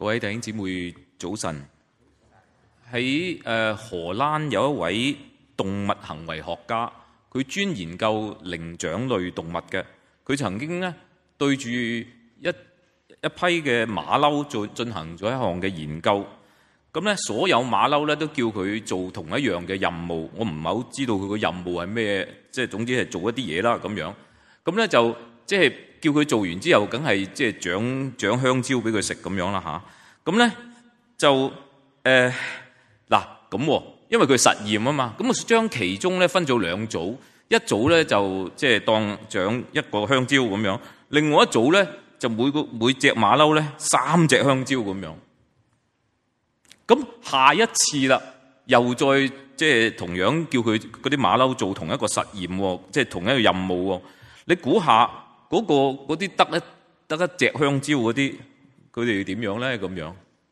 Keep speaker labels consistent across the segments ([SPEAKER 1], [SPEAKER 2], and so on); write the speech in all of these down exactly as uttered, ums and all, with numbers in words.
[SPEAKER 1] 各位弟兄姊妹早晨。喺誒荷蘭有一位動物行為學家，佢專研究靈長類動物嘅。佢曾經咧對住一一批嘅馬騮做進行咗一項嘅研究。咁咧所有馬騮咧都叫佢做同一樣嘅任務。我唔係好知道佢個任務係咩，即係總之係做一啲嘢啦咁樣。咁咧就即係叫佢做完之後，梗係即係長長香蕉俾佢食咁樣啦吓。咁咧就誒嗱咁，因為佢實驗啊嘛，咁啊將其中咧分咗兩組，一組咧就即係當長一個香蕉咁樣，另外一組咧就每個每隻馬騮咧三隻香蕉咁樣。咁下一次啦，又再即係同樣叫佢嗰啲馬騮做同一個實驗，即係同一個任務。你估下嗰個嗰啲得一得一隻香蕉嗰啲，佢哋點樣咧？咁樣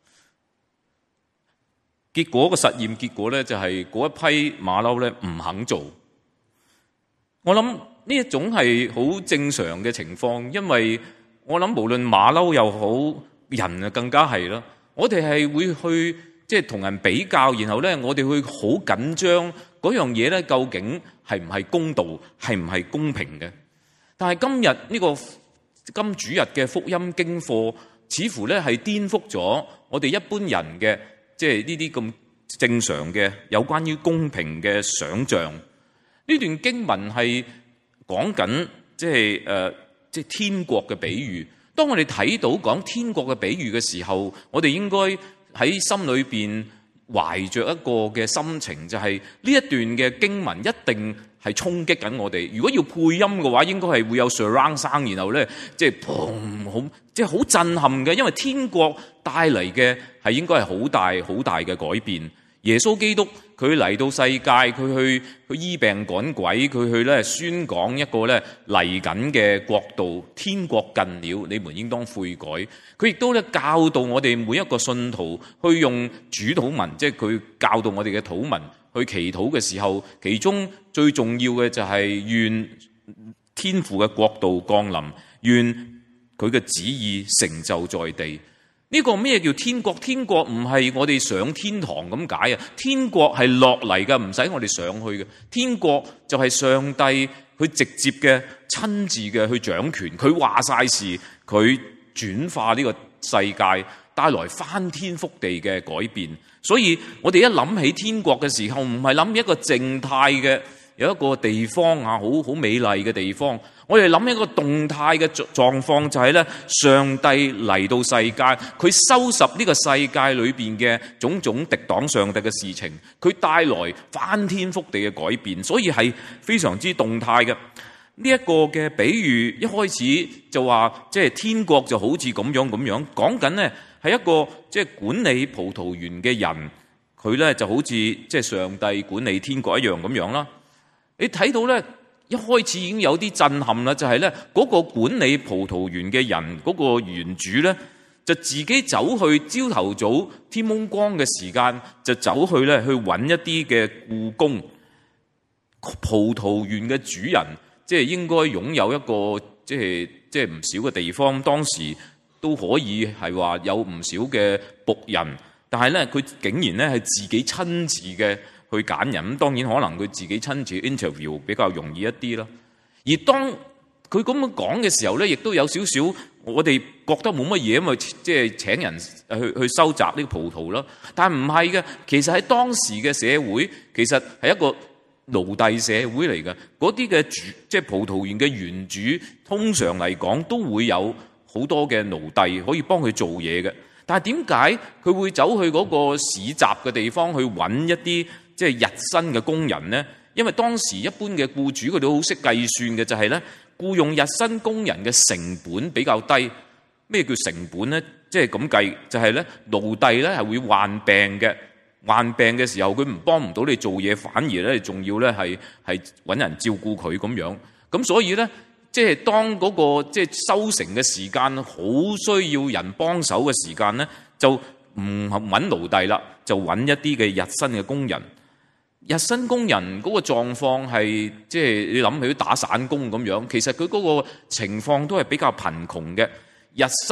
[SPEAKER 1] 結果個實驗結果咧就係嗰一批馬騮咧唔肯做。我諗呢一種係好正常嘅情況，因為我諗無論馬騮又好，人啊更加係啦。我哋係會去即係同人比較，然後咧我哋會好緊張嗰樣嘢咧，究竟係唔係公道，係唔係公平嘅？但係今日呢個今主日嘅福音經課，似乎咧係顛覆咗我哋一般人嘅即係呢啲咁正常嘅有關於公平嘅想像。呢段經文係講緊即係誒即係天國嘅比喻。當我哋睇到講天國嘅比喻嘅時候，我哋應該喺心裏邊懷着一個嘅心情，就係呢一段嘅經文一定係衝擊緊我哋。如果要配音嘅話，應該係會有 surround sound，然後咧即係砰好，即係好震撼嘅。因為天國帶嚟嘅係應該係好大好大嘅改變。耶穌基督佢嚟到世界，佢去去醫病趕鬼，佢去咧宣講一個咧嚟緊嘅國度，天國近了，你們應當悔改。佢亦都咧教導我哋每一個信徒去用主禱文，即係佢教導我哋嘅禱文去祈禱嘅時候，其中最重要嘅就係願天父嘅國度降臨，願佢嘅旨意成就在地。呢個咩叫天國？天國唔係我哋上天堂咁解啊！天國係落嚟嘅，唔使我哋上去嘅。天國就係上帝佢直接嘅、親自嘅去掌權，佢話晒事，佢轉化呢個世界，帶來翻天覆地嘅改變。所以我哋一諗起天國嘅時候，唔係諗一個靜態嘅有一個地方啊，好好美麗嘅地方。我哋諗一個動態嘅狀況，就係咧，上帝嚟到世界，佢收拾呢個世界裏邊嘅種種敵擋上帝嘅事情，佢帶來翻天覆地嘅改變，所以係非常之動態嘅。呢一個嘅比喻一開始就話，即係天國就好似咁樣咁樣，講緊呢係一個即係管理葡萄園嘅人，佢咧就好似即係上帝管理天國一樣咁樣啦。你睇到咧，一開始已經有啲震撼啦，就係咧嗰個管理葡萄園嘅人，嗰個園主咧就自己走去朝頭早天蒙光嘅時間，就走去咧去揾一啲嘅僱工。葡萄園嘅主人即係應該擁有一個即係即係唔少嘅地方，當時都可以係話有唔少嘅僕人，但係咧佢竟然咧係自己親自嘅去揀人。咁當然可能佢自己親自 interview 比較容易一啲啦。而當佢咁樣講嘅時候咧，亦都有少少我哋覺得冇乜嘢，因為即係請人去去收集呢個葡萄啦。但係唔係嘅，其實喺當時嘅社會，其實係一個奴隸社會嚟嘅。嗰啲嘅主即係葡萄園嘅園主，通常嚟講都會有好多嘅奴隸可以幫佢做嘢嘅。但係點解佢會走去嗰個市集嘅地方去揾一啲即係日薪嘅工人呢？因為當時一般嘅僱主佢哋好識計算嘅，就係咧僱用日薪工人嘅成本比較低。咩叫成本呢？即係咁計，就係咧奴隸咧係會患病嘅，患病嘅時候佢唔幫唔到你做嘢，反而咧仲要咧係係揾人照顧佢咁樣。咁所以咧，即係當嗰個即係收成嘅時間，好需要人幫手嘅時間咧，就唔揾奴隸啦，就揾一啲嘅日薪嘅工人。日薪工人嗰個狀況係即係你諗起打散工咁樣，其實佢嗰個情況都係比較貧窮嘅。日薪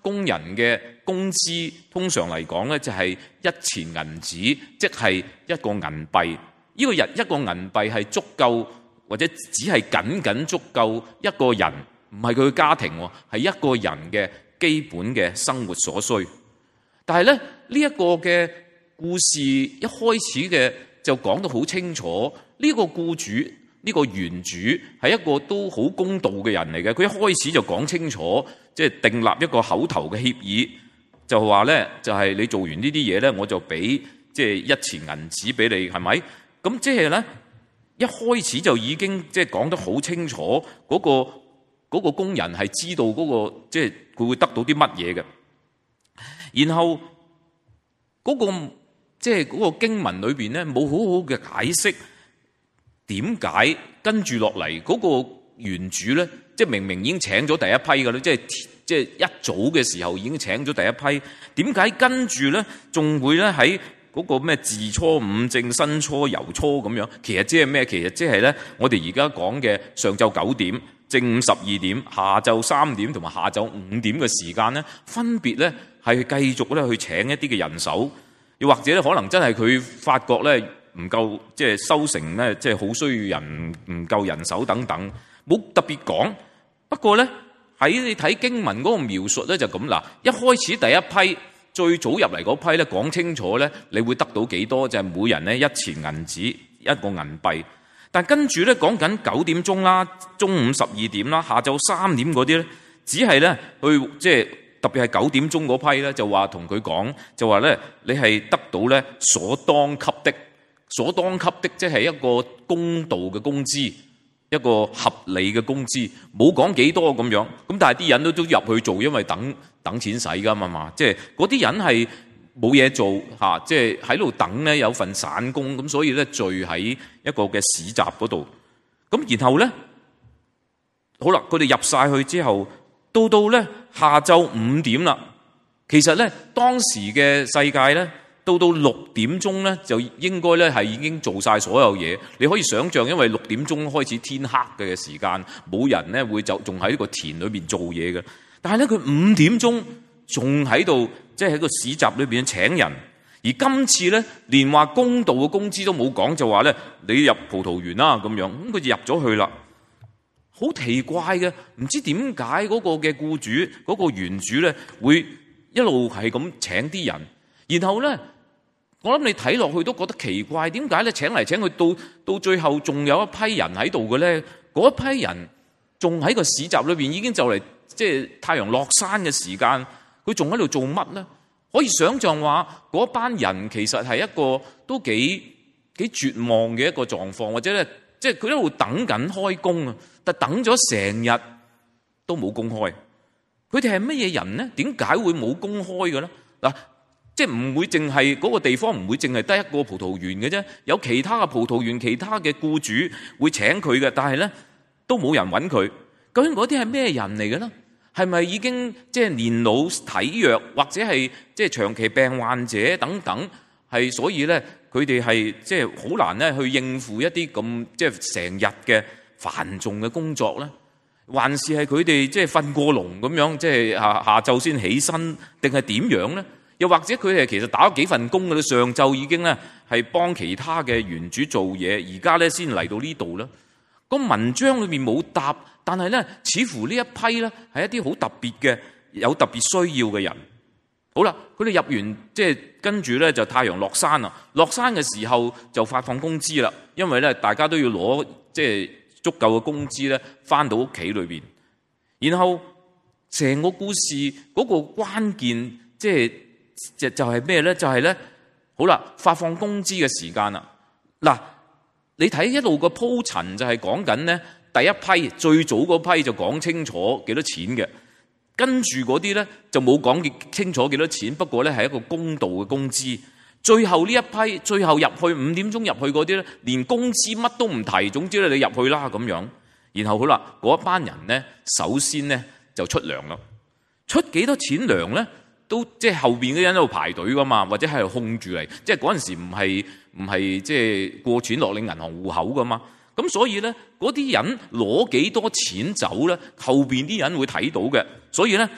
[SPEAKER 1] 工人嘅工資通常嚟講咧就係一錢銀子，即係一個銀幣。呢個日一個銀幣係足夠，或者只係僅僅足夠一個人，唔係佢嘅家庭，係一個人嘅基本嘅生活所需。但係咧呢一個嘅故事一開始嘅就講得好清楚，呢個僱主呢個原主係一個都好公道嘅人嚟嘅。佢一開始就講清楚，即係訂立一個口頭嘅協議，就話咧就係你做完呢啲嘢咧，我就俾即係一錢銀紙俾你，係咪？咁即係咧，一開始就已經即係講得好清楚，嗰個嗰個工人係知道嗰個即係佢會得到啲乜嘢嘅。然後嗰個即係嗰個經文裏邊咧，冇好好嘅解釋點解跟住落嚟嗰個原主咧，即係明明已經請咗第一批嘅咧，即係即係一早嘅時候已經請咗第一批，點解跟住咧仲會咧喺嗰個咩巳初、午正、申初、酉初咁樣？其實即係咩？其實即係咧，我哋而家講嘅上晝九點、正午十二點、下晝三點同埋下晝五點嘅時間咧，分別咧係繼續咧去請一啲嘅人手，又或者咧可能真係佢發覺咧唔夠，即係收成咧，即係好需要人，唔夠人手等等，冇特別講。不過咧喺你睇經文嗰個描述咧就咁啦，一開始第一批。最早入嚟嗰批咧，講清楚咧，你會得到幾多？就係每人咧一錢銀紙一個銀幣。但跟住咧講緊九點鐘啦，中午十二點啦，下晝三點嗰啲咧，只係咧去即係特別係九點鐘嗰批咧，就話同佢講，就話咧你係得到咧所當給的，所當給的即係一個公道嘅工資，一個合理嘅工資，冇講幾多咁樣。咁但係啲人都都入去做，因為等。等錢使㗎嘛嘛，即係嗰啲人係冇嘢做嚇，即係喺度等咧有份散工，咁所以咧聚喺一個嘅市集嗰度。咁然後咧，好啦，佢哋入晒去之後，到到咧下晝五點啦。其實咧當時嘅世界咧，到到六點鐘咧就應該咧係已經做晒所有嘢。你可以想像，因為六點鐘開始天黑嘅時間，冇人咧會就仲喺呢個田裏邊做嘢嘅。但係咧，佢五點鐘仲喺度，即係喺個市集裏邊請人。而今次咧，連話公道嘅工資都冇講，就話咧你入葡萄園啦咁樣。咁佢就入咗去啦，好奇怪嘅，唔知點解嗰個嘅僱主嗰個原主咧會一路係咁請啲人。然後咧，我諗你睇落去都覺得奇怪，點解咧請嚟請去到到最後仲有一批人喺度嘅咧？嗰一批人仲喺個市集裏邊，已經就嚟。即係太陽落山嘅時間，佢仲喺度做乜咧？可以想像話嗰班人其實係一個都幾幾絕望嘅一個狀況，或者咧，即係佢一路等緊開工啊，但等咗成日都冇工開。佢哋係乜嘢人咧？點解會冇工開嘅咧？嗱，即係唔會淨係嗰個地方唔會淨係得一個葡萄園嘅啫，有其他嘅葡萄園、其他嘅僱主會請佢嘅，但係咧都冇人揾佢。究竟嗰啲係咩人嚟嘅咧？係咪已經即係年老體弱，或者係即係長期病患者等等？係所以咧，佢哋係即係好難咧去應付一啲咁即係成日嘅繁重嘅工作咧？還是係佢哋即係瞓過籠咁樣，即係下下晝先起身，定係點樣咧？又或者佢哋其實打咗幾份工嘅咧，上晝已經咧係幫其他嘅園主做嘢，而家咧先嚟到呢度咧？個文章裏面冇答，但係咧，似乎呢一批咧係一啲好特別嘅、有特別需要嘅人。好啦，佢哋入完即係跟住咧就太陽落山啦。落山嘅時候就發放工資啦，因為咧大家都要攞即係足夠嘅工資咧，翻到屋企裏邊。然後成個故事嗰個關鍵即係就就係咩咧？就係咧，好啦，發放工資嘅時間啦。嗱。你睇一路個鋪陳就係講緊咧，第一批最早嗰批就講清楚幾多錢嘅，跟住嗰啲咧就冇講清楚幾多錢，不過咧係一個公道嘅工資。最後呢一批，最後入去五點鐘入去嗰啲咧，連工資乜都唔提，總之咧你入去啦咁樣。然後好啦，嗰一班人咧，首先咧就出糧啦，出幾多錢糧咧？都即係後邊嗰啲人喺度排隊噶嘛，或者喺度控住嚟，即係嗰陣時唔係唔係即係過錢落你銀行戶口噶嘛。咁所以咧，嗰啲人攞幾多錢走咧，後邊啲人會睇到嘅。所以咧，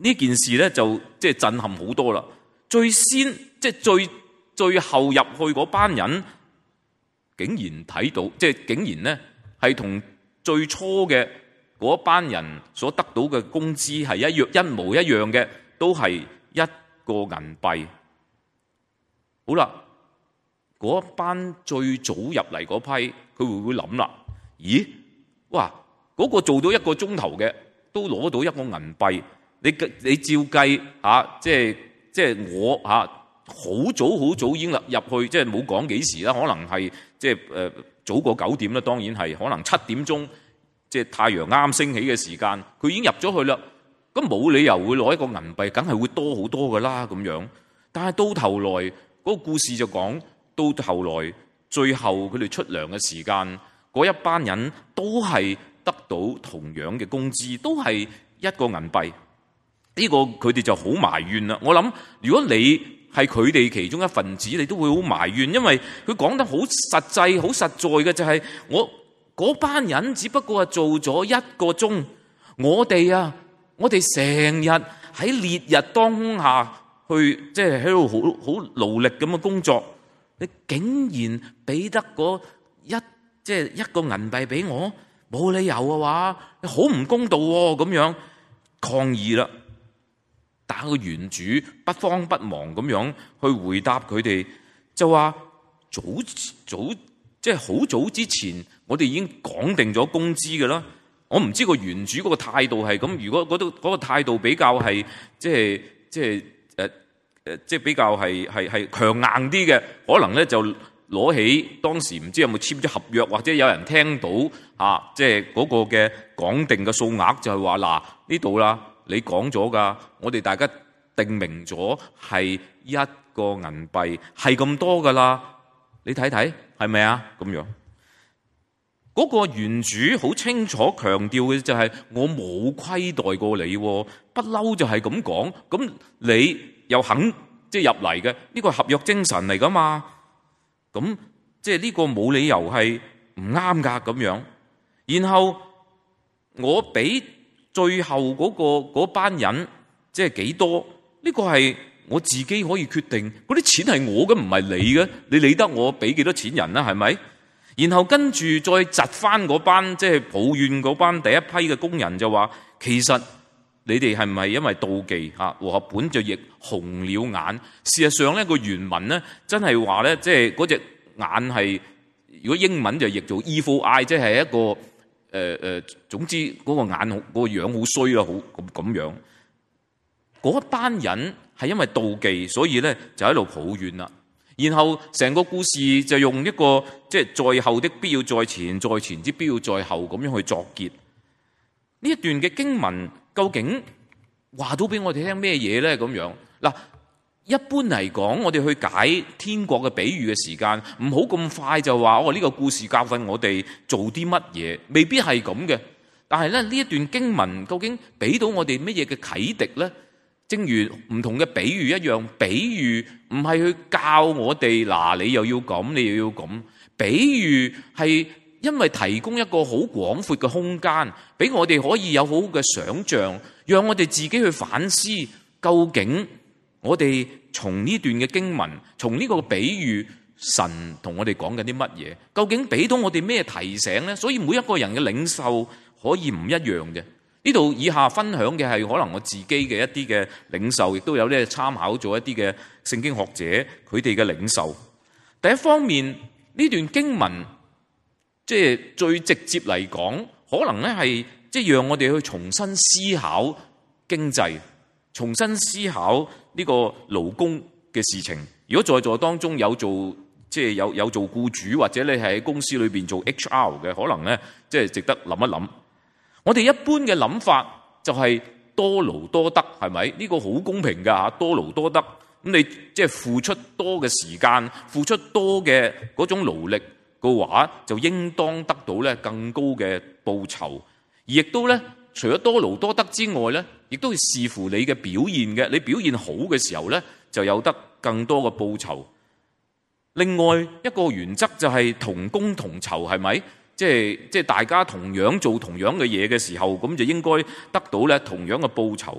[SPEAKER 1] 呢件事咧就即係震撼好多啦。最先即係最最後入去嗰班人，竟然睇到，即係竟然咧係同最初嘅嗰班人所得到嘅工資係一樣一模一樣嘅，都係一個銀幣。好啦，嗰班最早入嚟嗰批，佢會唔會諗啦？咦，哇！嗰個做到一個鐘頭嘅，都攞到一個銀幣。你你照計嚇，即係即係我嚇，好早好早已經入入去，即係冇講幾時啦，可能係即係誒早過九點啦，當然係可能七點鐘，即係太陽啱升起嘅時間，佢已經入咗去啦。咁冇理由會攞一個銀幣，梗係會多好多噶啦咁樣。但係到頭來嗰個故事就講，到頭來最後佢哋出糧嘅時間，嗰一班人都係得到同樣嘅工資，都係一個銀幣。呢個佢哋就好埋怨啦。我諗如果你係佢哋其中一份子，你都會好埋怨，因為佢講得好實際、好實在嘅就係我嗰班人只不過係做咗一個鐘，我哋啊，我哋成日喺烈日當空下去，即係喺度好好勞力咁嘅工作，你竟然俾得嗰一即係一個銀幣俾我，冇理由嘅話，你好唔公道喎，咁樣抗議啦。但個原主不慌不忙咁樣去回答佢哋，就話早早即係好早之前，我哋已經講定咗工資㗎啦。我唔知個原主嗰個態度係咁。如果嗰度嗰個態度比較係即係即係誒誒，即係比較係係係強硬啲嘅，可能咧就攞起當時唔知有冇簽咗合約，或者有人聽到啊，即係嗰個嘅講定嘅數額就係話嗱呢度啦。你講咗㗎，我哋大家定明咗係一個銀幣，係咁多㗎啦。你睇睇係咪啊？咁樣嗰個原主好清楚強調嘅就係我冇虧待過你，不嬲就係咁講。咁你又肯即係入嚟嘅呢個係合約精神嚟㗎嘛？咁即係呢個冇理由係唔啱㗎咁樣。然後我俾最後嗰個嗰班人即係幾多？呢個係我自己可以決定。嗰啲錢係我嘅，唔係你嘅。你理得我俾幾多錢人啦？係咪？然後跟住再窒翻嗰班即係抱怨嗰班第一批嘅工人就話：其實你哋係唔係因為妒忌嚇？和合本就譯紅了眼。事實上咧，個原文咧真係話咧，即係嗰隻眼係，如果英文就譯做 evil eye，即係一個。誒、呃、誒，總之嗰個眼好，嗰、嗰個樣好衰啦，好咁咁樣。嗰一班人係因為妒忌，所以咧就喺度抱怨啦。然後成個故事就用一個即係在後的必要在前，在前之必要在後咁樣去作結。呢一段嘅經文究竟話到俾我哋聽咩嘢咧？咁樣嗱。一般嚟講，我哋去解天國嘅比喻嘅時間，唔好咁快就話哦，呢個故事教訓我哋做啲乜嘢，未必係咁嘅。但係咧，呢一段經文究竟俾到我哋乜嘢嘅啟迪咧？正如唔同嘅比喻一樣，比喻唔係去教我哋嗱，你又要咁，你又要咁。比喻係因為提供一個好廣闊嘅空間，俾我哋可以有好好嘅想像，讓我哋自己去反思究竟。我哋從呢段嘅經文，從呢個比喻，神同我哋講緊啲乜嘢？究竟俾到我哋咩提醒呢？所以每一個人嘅領受可以唔一樣嘅。呢度以下分享嘅係可能我自己嘅一啲嘅領受，亦都有咧參考咗一啲嘅聖經學者佢哋嘅領受。第一方面，呢段經文即係最直接嚟講，可能咧係即係讓我哋去重新思考經濟。重新思考呢個勞工嘅事情。如果在座當中有做即係有有做僱主，或者你係喺公司裏邊做 H R 嘅，可能咧即係值得諗一諗。我哋一般嘅諗法就係多勞多得，係咪？呢個好公平㗎嚇，多勞多得。咁你即係付出多嘅時間，付出多嘅嗰種勞力嘅話，就應當得到咧更高嘅報酬。而亦都咧，除咗多勞多得之外咧，亦都係視乎你嘅表現嘅。你表現好嘅時候咧，就有得更多嘅報酬。另外一個原則就係同工同酬，係咪？即係即係大家同樣做同樣嘅嘢嘅時候，咁就應該得到咧同樣嘅報酬。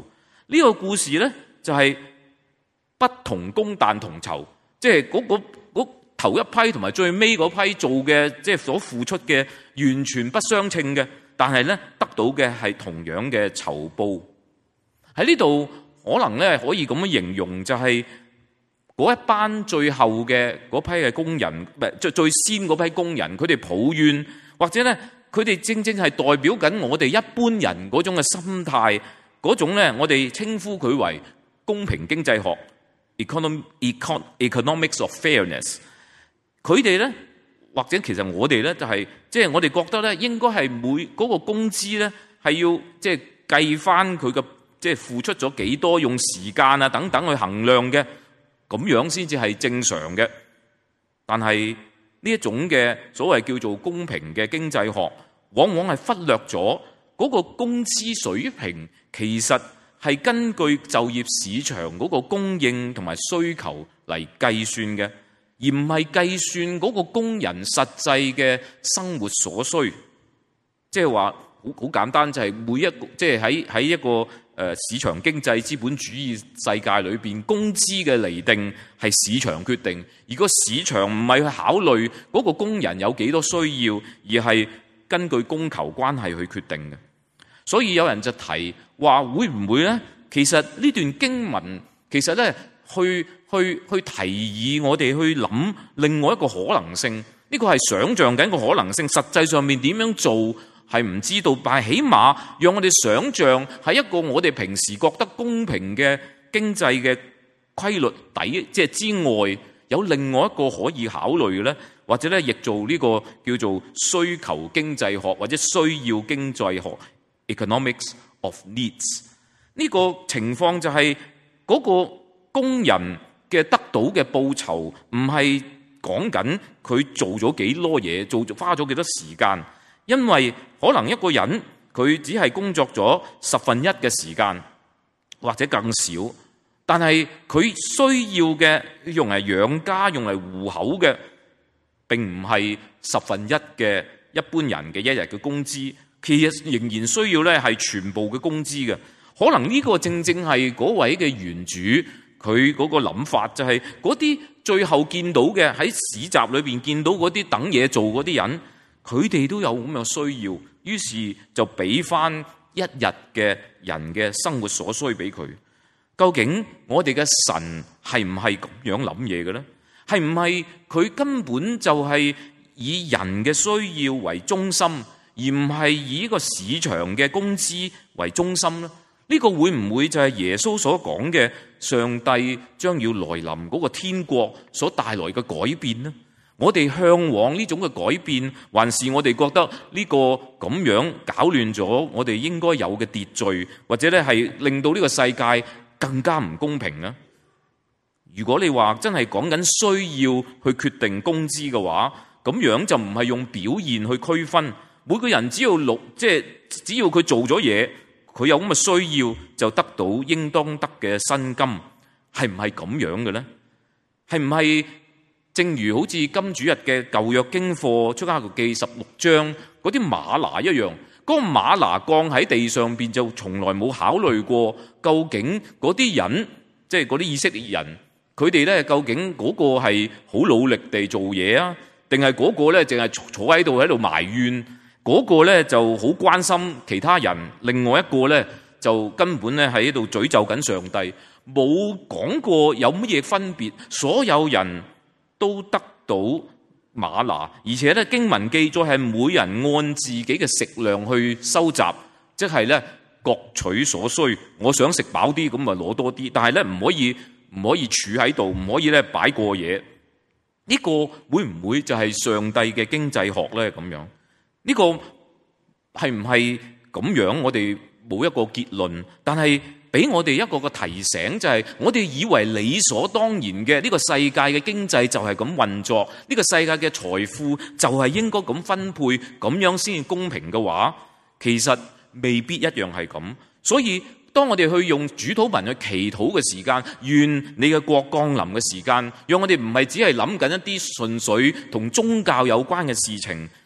[SPEAKER 1] 呢個故事咧就係不同工但同酬，即係嗰個嗰頭一批同埋最尾嗰批做嘅，即係所付出嘅完全不相稱嘅，但係咧得到嘅係同樣嘅酬報。喺呢度可能咧可以咁樣形容，就係嗰一班最後嘅嗰批嘅工人，唔係最最先嗰批工人，佢哋抱怨，或者咧佢哋正正係代表緊我哋一般人嗰種嘅心態，嗰種咧我哋稱呼佢為公平經濟學 （economic economics of fairness）。佢哋咧，或者其實我哋咧，就係即係我哋覺得咧，應該係每嗰個工資咧係要即係計翻佢嘅即係付出咗幾多，用時間啊等等去衡量嘅，咁樣先至係正常嘅。但係呢一種嘅所謂叫做公平嘅經濟學，往往係忽略咗嗰個工資水平其實係根據就業市場嗰個供應同埋需求嚟計算嘅，而唔係計算嗰個工人實際嘅生活所需。即係話好好簡單，就係每一個即係喺喺一個誒市場經濟資本主義世界裏邊，工資嘅釐定係市場決定，而個市場唔係去考慮嗰個工人有幾多需要，而係根據供求關係去決定嘅。所以有人就提話，會唔會咧？其實呢段經文其實咧，去去去提議我哋去諗另外一個可能性。呢個係想像緊個可能性，實際上面點樣做係唔知道，但係起碼讓我哋想像喺一個我哋平時覺得公平嘅經濟嘅規律底，即係之外，有另外一個可以考慮嘅咧，或者咧亦做呢個叫做需求經濟學或者需要經濟學 （economics of needs）。呢個情況就係嗰個工人嘅得到嘅報酬，唔係講緊佢做咗幾多嘢，做花咗幾多時間，因為可能一個人佢只係工作咗十分一嘅時間，或者更少，但係佢需要嘅用嚟養家、用嚟糊口嘅，並唔係十分一嘅一般人嘅一日嘅工資，其實仍然需要咧係全部嘅工資嘅。可能呢個正正係嗰位嘅原主佢嗰個諗法，就係嗰啲最後見到嘅喺市集裏邊見到嗰啲等嘢做嗰啲人，佢哋都有咁嘅需要，於是就俾翻一日嘅人嘅生活所需俾佢。究竟我哋嘅神係唔係咁樣諗嘢嘅咧？係唔係佢根本就係以人嘅需要為中心，而唔係以一個市場嘅工資為中心咧？呢個會唔會就係耶穌所講嘅上帝將要來臨嗰個天國所帶來嘅改變呢？我哋向往呢種嘅改變，還是我哋覺得呢個咁樣搞亂咗我哋應該有嘅秩序，或者咧係令到呢個世界更加唔公平呢？如果你話真係講緊需要去決定工資嘅話，咁樣就唔係用表現去區分，每個人只要錄，即係只要佢做咗嘢，佢有咁嘅需要就得到應當得嘅薪金，係唔係咁樣嘅咧？係唔係正如好似金主日嘅舊約經課出埃及記十六章嗰啲嗎哪一樣？嗰個嗎哪降喺地上邊就從來冇考慮過，究竟嗰啲人即係嗰啲以色列人，佢哋咧究竟嗰個係好努力地做嘢啊，定係嗰個咧淨係坐喺度喺度埋怨？嗰個咧就好關心其他人，另外一個咧就根本咧喺度詛咒緊上帝，冇講過有乜嘢分別，所有人都得到嗎哪，而且咧經文記載係每人按自己嘅食量去收集，即係咧各取所需。我想食飽啲咁咪攞多啲，但係咧唔可以唔可以儲喺度，唔可以咧擺過嘢。呢個會唔會就係上帝嘅經濟學咧？咁樣？呢個係唔係咁樣？我哋冇一個結論，但係俾我哋一個個提醒，就係我哋以為理所當然嘅呢個世界嘅經濟就係咁運作，呢個世界嘅財富就係應該咁分配，咁樣先公平嘅話，其實未必一樣係咁。所以當我哋去用主禱文去祈禱嘅時間，願你嘅國降臨嘅時間，讓我哋唔係只係諗緊一啲純粹同宗教有關嘅事情，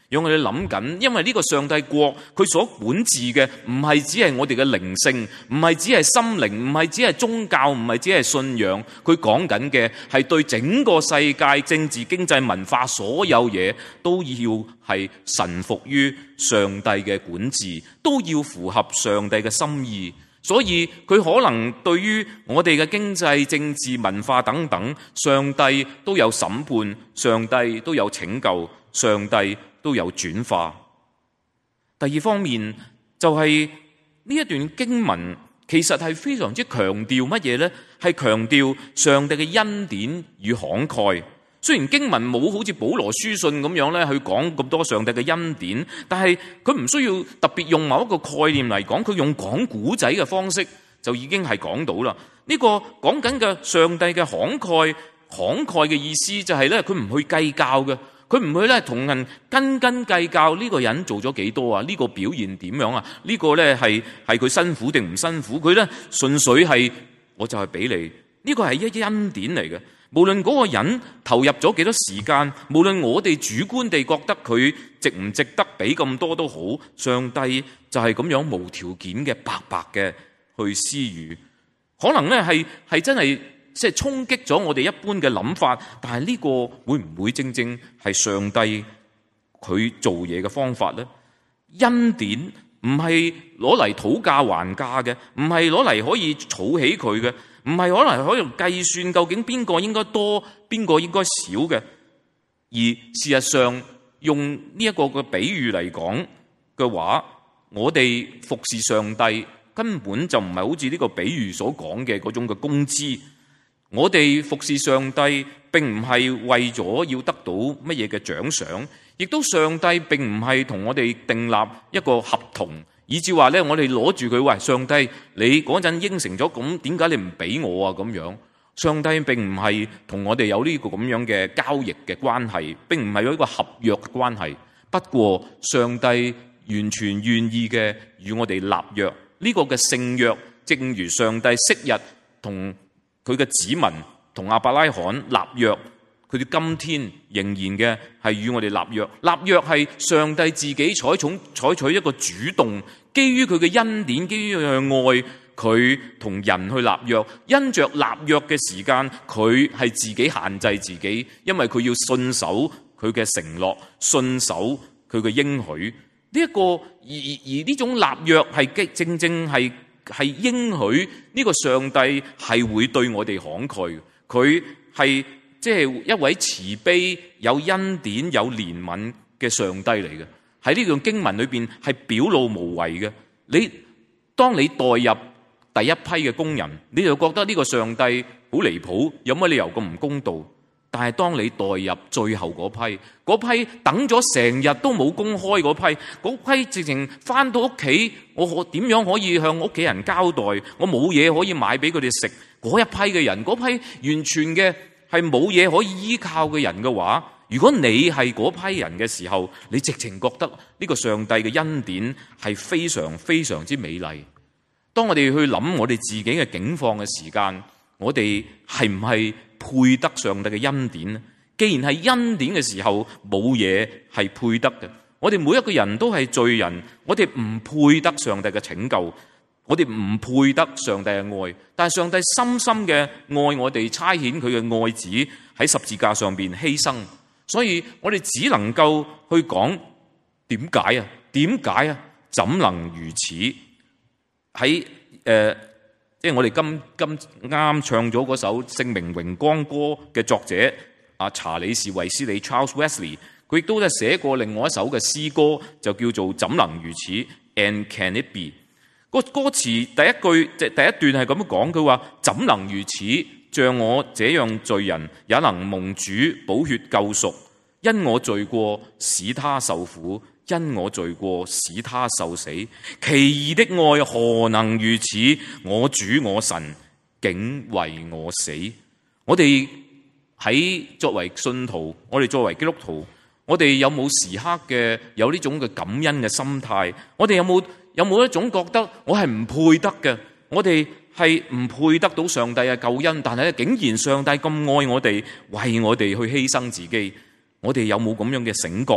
[SPEAKER 1] 讓我哋諗緊，因為呢個上帝國佢所管治嘅唔係只係我哋嘅靈性，唔係只係心靈，唔係只係宗教，唔係只係信仰。佢講緊嘅係對整個世界政治、經濟、文化所有嘢都要係臣服於上帝嘅管治，都要符合上帝嘅心意。所以佢可能對於我哋嘅經濟、政治、文化等等，上帝都有審判，上帝都有拯救，上帝都有轉化。第二方面就係呢一段經文其實係非常之強調乜嘢呢？係強調上帝嘅恩典與慷慨。雖然經文冇好似保羅書信咁樣咧去講咁多上帝嘅恩典，但係佢唔需要特別用某一個概念嚟講，佢用講古仔嘅方式就已經係講到啦。呢個講緊嘅上帝嘅慷慨，慷慨嘅意思就係咧，佢唔去計較嘅。佢唔會咧同人斤斤計較呢個人做咗幾多啊？呢個表現點樣啊？呢個咧係係佢辛苦定唔辛苦？佢咧純粹係我就係俾你，呢個係一恩典嚟嘅。無論嗰個人投入咗幾多時間，無論我哋主觀地覺得佢值唔值得俾咁多都好，上帝就係咁樣無條件嘅白白嘅去施予。可能咧係係真係。即係衝擊咗我哋一般嘅諗法，但係呢個會唔會正正係上帝佢做嘢嘅方法呢？恩典唔係攞嚟討價還價嘅，唔係攞嚟可以儲起佢嘅，唔係可能可以計算究竟邊個應該多，邊個應該少嘅。而事實上，用呢一個嘅比喻嚟講嘅話，我哋服侍上帝根本就唔係好似呢個比喻所講嘅嗰種嘅工資。我哋服侍上帝並唔係為咗要得到乜嘢嘅獎賞，亦都上帝並唔係同我哋訂立一個合同，以至話咧我哋攞住佢，喂，上帝你嗰陣應承咗，咁點解你唔俾我啊？咁樣，上帝並唔係同我哋有呢個咁樣嘅交易嘅關係，並唔係有一個合約嘅關係。不過上帝完全願意嘅與我哋立約，呢個嘅聖約，正如上帝昔日同佢嘅子民同亞伯拉罕立約，佢哋今天仍然嘅係與我哋立約。立約係上帝自己採取採取一個主動，基於佢嘅恩典，基於佢嘅愛，佢同人去立約。因着立約嘅時間，佢係自己限制自己，因為佢要信守佢嘅承諾，信守佢嘅應許。呢一個而而呢種立約係正正係。係應許呢個上帝係會對我哋慷慨，佢係即係一位慈悲、有恩典、有憐憫嘅上帝嚟嘅。喺呢段經文裏邊係表露無遺嘅。你當你代入第一批嘅工人，你就覺得呢個上帝好離譜，有乜理由咁唔公道？但係當你代入最後嗰批，嗰批等咗成日都冇公開嗰批，嗰批直情翻到屋企，我可點樣可以向屋企人交代？我冇嘢可以買俾佢哋食。嗰一批嘅人，嗰批完全嘅係冇嘢可以依靠嘅人嘅話，如果你係嗰批人嘅時候，你直情覺得呢個上帝嘅恩典係非常非常之美麗。當我哋去諗我哋自己嘅境況嘅時間，我哋係唔係配得上帝嘅恩典呢？既然係恩典嘅時候，冇嘢係配得嘅。我哋每一個人都係罪人，我哋唔配得上帝嘅拯救，我哋唔配得上帝嘅愛。但係上帝深深嘅愛我哋，差遣佢嘅愛子喺十字架上邊犧牲。所以我哋只能夠去講點解啊？點解啊？怎能如此？喺誒。呃即係我哋今今啱唱咗嗰首《聖名榮光歌》嘅作者阿查理士衛斯理 Charles Wesley， 佢亦都咧寫過另外一首嘅詩歌，就叫做《怎能如此》And Can It Be？ 個歌詞第一句即係第一段係咁樣講，佢話怎能如此？像我這樣罪人也能蒙主寶血救贖，因我罪過使他受苦。因我罪過使他受死，奇異的愛何能如此？我主我神竟為我死。我哋喺作為信徒，我哋作為基督徒，我哋有冇時刻嘅有呢種嘅感恩嘅心態？我哋有冇有冇一種覺得我係唔配得嘅？我哋係唔配得到上帝嘅救恩，但係竟然上帝咁愛我哋，為我哋去犧牲自己，我哋有冇咁樣嘅醒覺呢？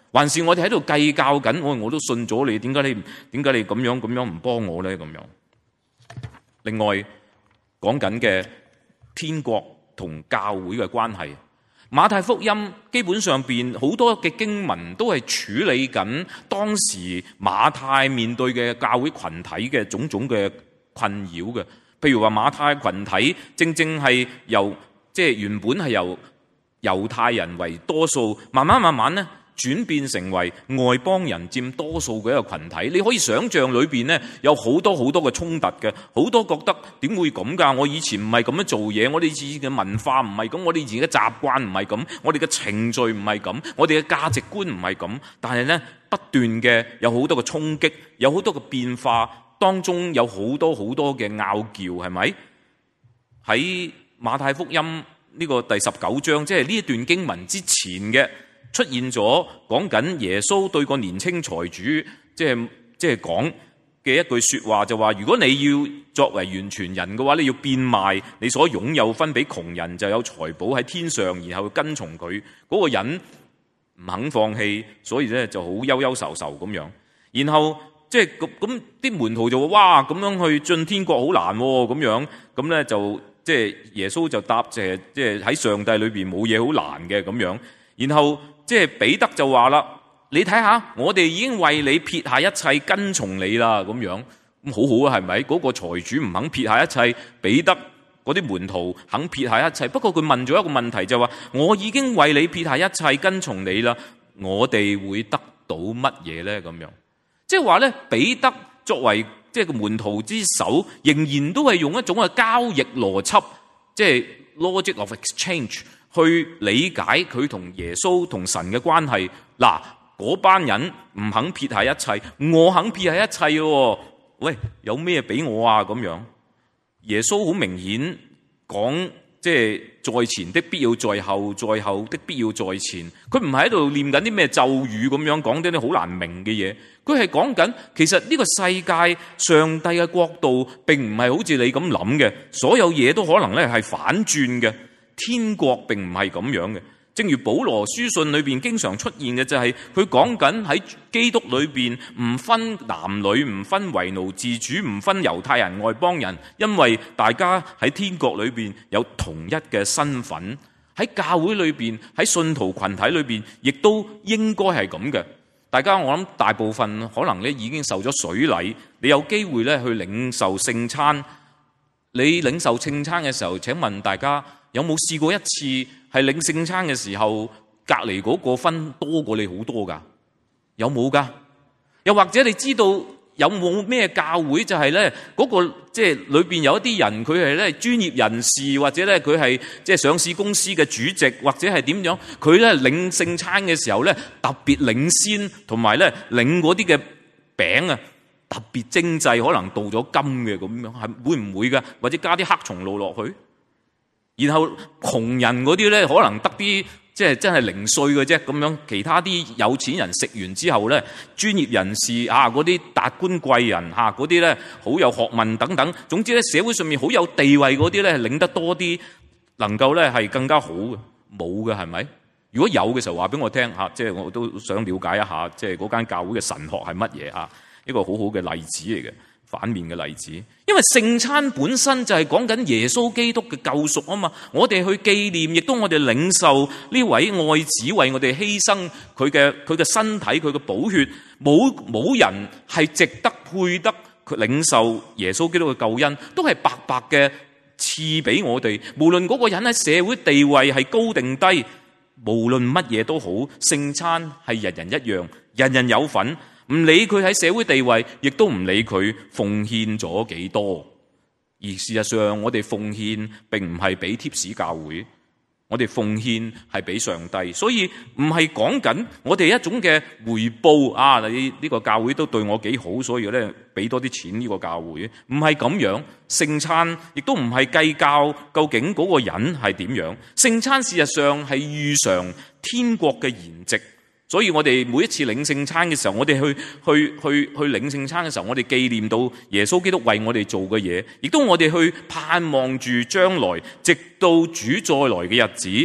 [SPEAKER 1] 還是我哋喺度計較緊？我我都信咗你，點解你點解你咁樣咁樣唔幫我咧？咁樣。另外講緊嘅天國同教會嘅關係，馬太福音基本上邊好多嘅經文都係處理緊當時馬太面對嘅教會群體嘅種種嘅困擾嘅。譬如話馬太群體正正係由即係原本係由猶太人為多數，慢慢慢慢咧轉變成為外邦人佔多數嘅一個群體。你可以想象裏邊咧有好多好多嘅衝突嘅，好多覺得點會咁㗎？我以前唔係咁樣做嘢，我哋以前嘅文化唔係咁，我哋以前嘅習慣唔係咁，我哋嘅程序唔係咁，我哋嘅價值觀唔係咁。但係咧不斷嘅有好多嘅衝擊，有好多嘅變化，當中有好多好多嘅拗撬，係咪？喺馬太福音呢個第十九章，即係呢一段經文之前嘅。出現咗講緊耶穌對個年青財主，即係即係講嘅一句説話，就話：如果你要作為完全人嘅話，你要變賣你所擁有分俾窮人，就有財寶喺天上，然後跟從佢。嗰個人唔肯放棄，所以咧就好憂憂愁愁咁樣。然後即係咁咁啲門徒就話：哇，咁樣去進天國好難喎，咁樣咁咧就即係耶穌就答謝，即係喺上帝裏邊冇嘢好難嘅咁樣。然後即係彼得就話啦：你睇下，我哋已經為你撇下一切跟從你啦，咁樣咁好好啊，係咪？嗰個財主唔肯撇下一切，彼得嗰啲門徒肯撇下一切。不過佢問咗一個問題，就話：我已經為你撇下一切跟從你啦，我哋會得到乜嘢咧？咁樣即係話咧，彼得作為即係個門徒之首，仍然都係用一種嘅交易邏輯，即係 logic of exchange。去理解佢同耶穌同神嘅關係。嗱，嗰班人唔肯撇下一切，我肯撇下一切喎。喂，有咩俾我啊？咁樣耶穌好明顯講，即係在前的必要在後，在後的必要在前。佢唔係喺度念緊啲咩咒語咁樣講啲啲好難明嘅嘢。佢係講緊其實呢個世界上帝嘅國度並唔係好似你咁諗嘅，所有嘢都可能咧係反轉嘅。天國並唔係咁樣嘅，正如保羅書信裏邊經常出現嘅就係佢講緊喺基督裏邊唔分男女，唔分為奴自主，唔分猶太人外邦人，因為大家喺天國裏邊有同一嘅身份。喺教會裏邊，喺信徒群體裏邊，亦都應該係咁嘅。大家我諗大部分可能咧已經受咗水禮，你有機會咧去領受聖餐。你領受聖餐嘅時候，請問大家，有冇試過一次係領聖餐嘅時候，隔離嗰個分多過你好多㗎？有冇㗎？又或者你知道有冇咩教會就係咧嗰個即係裏邊有一啲人佢係咧專業人士，或者咧佢係即係上市公司嘅主席，或者係點樣？佢咧領聖餐嘅時候咧特別領先，同埋咧領嗰啲嘅餅啊特別精製，可能鍍咗金嘅咁樣，係會唔會㗎？或者加啲黑松露落去？然後窮人嗰啲咧，可能得啲即係真係零碎嘅啫咁樣。其他啲有錢人食完之後咧，專業人士啊，嗰啲達官貴人嚇，嗰啲咧好有學問等等。總之咧，社會上面好有地位嗰啲咧，領得多啲，能夠咧係更加好嘅。冇嘅係咪？如果有嘅時候話俾我聽嚇，即係我都想了解一下，即係嗰間教會嘅神學係乜嘢啊？一個好好嘅例子嚟嘅。反面嘅例子，因為聖餐本身就係講緊耶穌基督嘅救贖啊嘛，我哋去紀念，亦都我哋領受呢位愛子為我哋犧牲佢嘅佢嘅身體，佢嘅寶血，冇冇人係值得配得佢領受耶穌基督嘅救恩，都係白白嘅賜俾我哋。無論嗰個人喺社會地位係高定低，無論乜嘢都好，聖餐係人人一樣，人人有份。唔理佢喺社會地位，亦都唔理佢奉獻咗幾多。而事實上，我哋奉獻並唔係俾貼士教會，我哋奉獻係俾上帝。所以唔係講緊我哋一種嘅回報啊！你呢個教會都對我幾好，所以咧俾多啲錢呢個教會，唔係咁樣。聖餐亦都唔係計較究竟嗰個人係點樣。聖餐事實上係預嘗天國嘅筵席。所以我哋每一次領聖餐嘅時候，我哋去去去去領聖餐嘅時候，我哋紀念到耶穌基督為我哋做嘅嘢，亦都我哋去盼望住將來，直到主再來嘅日子，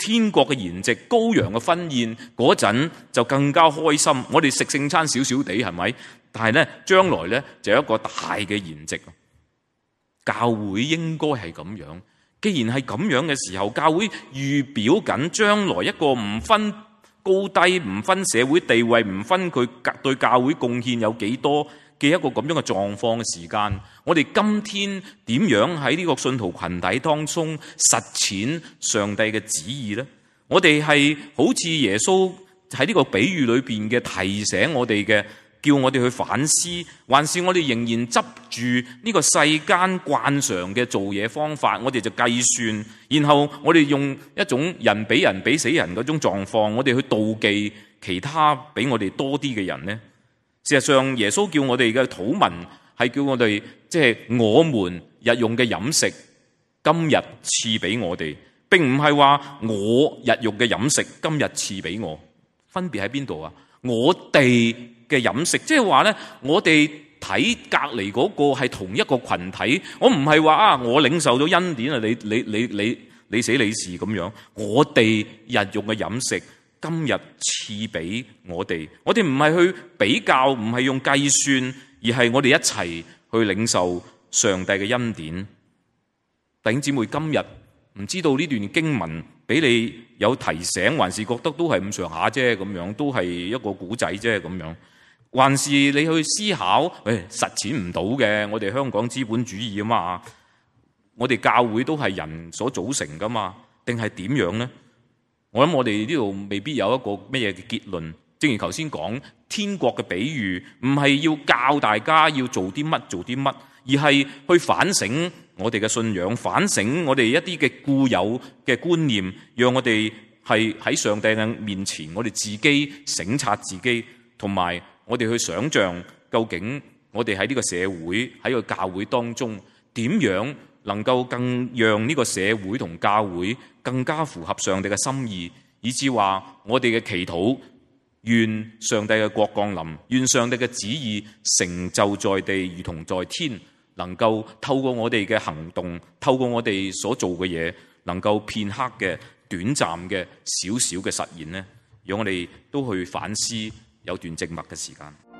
[SPEAKER 1] 天國嘅筵席、羔羊嘅婚宴嗰陣就更加開心。我哋食聖餐少少地係咪？但係咧將來咧就有一個大嘅筵席。教會應該係咁樣。既然係咁樣嘅時候，教會預表緊將來一個唔分高低、唔分社會地位、唔分佢對教會貢獻有幾多嘅一個咁樣嘅狀況嘅時間，我哋今天點樣喺呢個信徒群體當中實踐上帝嘅旨意呢？我哋係好似耶穌喺呢個比喻裏邊嘅提醒我哋嘅，叫我哋去反思，還是我哋仍然執住呢個世間慣常嘅做嘢方法，我哋就計算，然後我哋用一種人比人比死人嗰種狀況，我哋去妒忌其他比我哋多啲嘅人呢？事實上，耶穌叫我哋嘅禱文係叫我哋，即係我們日用嘅飲食，今日賜俾我哋，並唔係話我日用嘅飲食今日賜俾我。分別喺邊度啊？我哋嘅飲食，即係話咧，我哋睇隔籬嗰個係同一個群體，我唔係話啊，我領受咗恩典啊，你你你你你死你事咁樣。我哋日用嘅飲食，今日賜俾我哋，我哋唔係去比較，唔係用計算，而係我哋一齊去領受上帝嘅恩典。弟兄姊妹，今日唔知道呢段經文俾你有提醒，還是覺得都係咁上下啫，咁樣都係一個古仔啫，咁樣，還是你去思考，誒、哎，實踐唔到嘅，我哋香港資本主義啊嘛，我哋教會都係人所組成噶嘛，定係點樣呢？我諗我哋呢度未必有一個咩嘢嘅結論。正如頭先講，天國嘅比喻唔係要教大家要做啲乜做啲乜，而係去反省我哋嘅信仰，反省我哋一啲嘅固有嘅觀念，讓我哋係喺上帝嘅面前，我哋自己省察自己，同埋我哋去想象究竟我哋喺呢個社會喺個教會當中點樣能夠更讓呢個社會同教會更加符合上帝嘅心意，以致話我哋嘅祈禱，願上帝嘅國降臨，願上帝嘅旨意成就在地如同在天，能夠透過我哋嘅行動，透過我哋所做嘅嘢，能夠片刻嘅短暫嘅少少嘅實現呢，讓我哋都去反思，有段靜默嘅時間。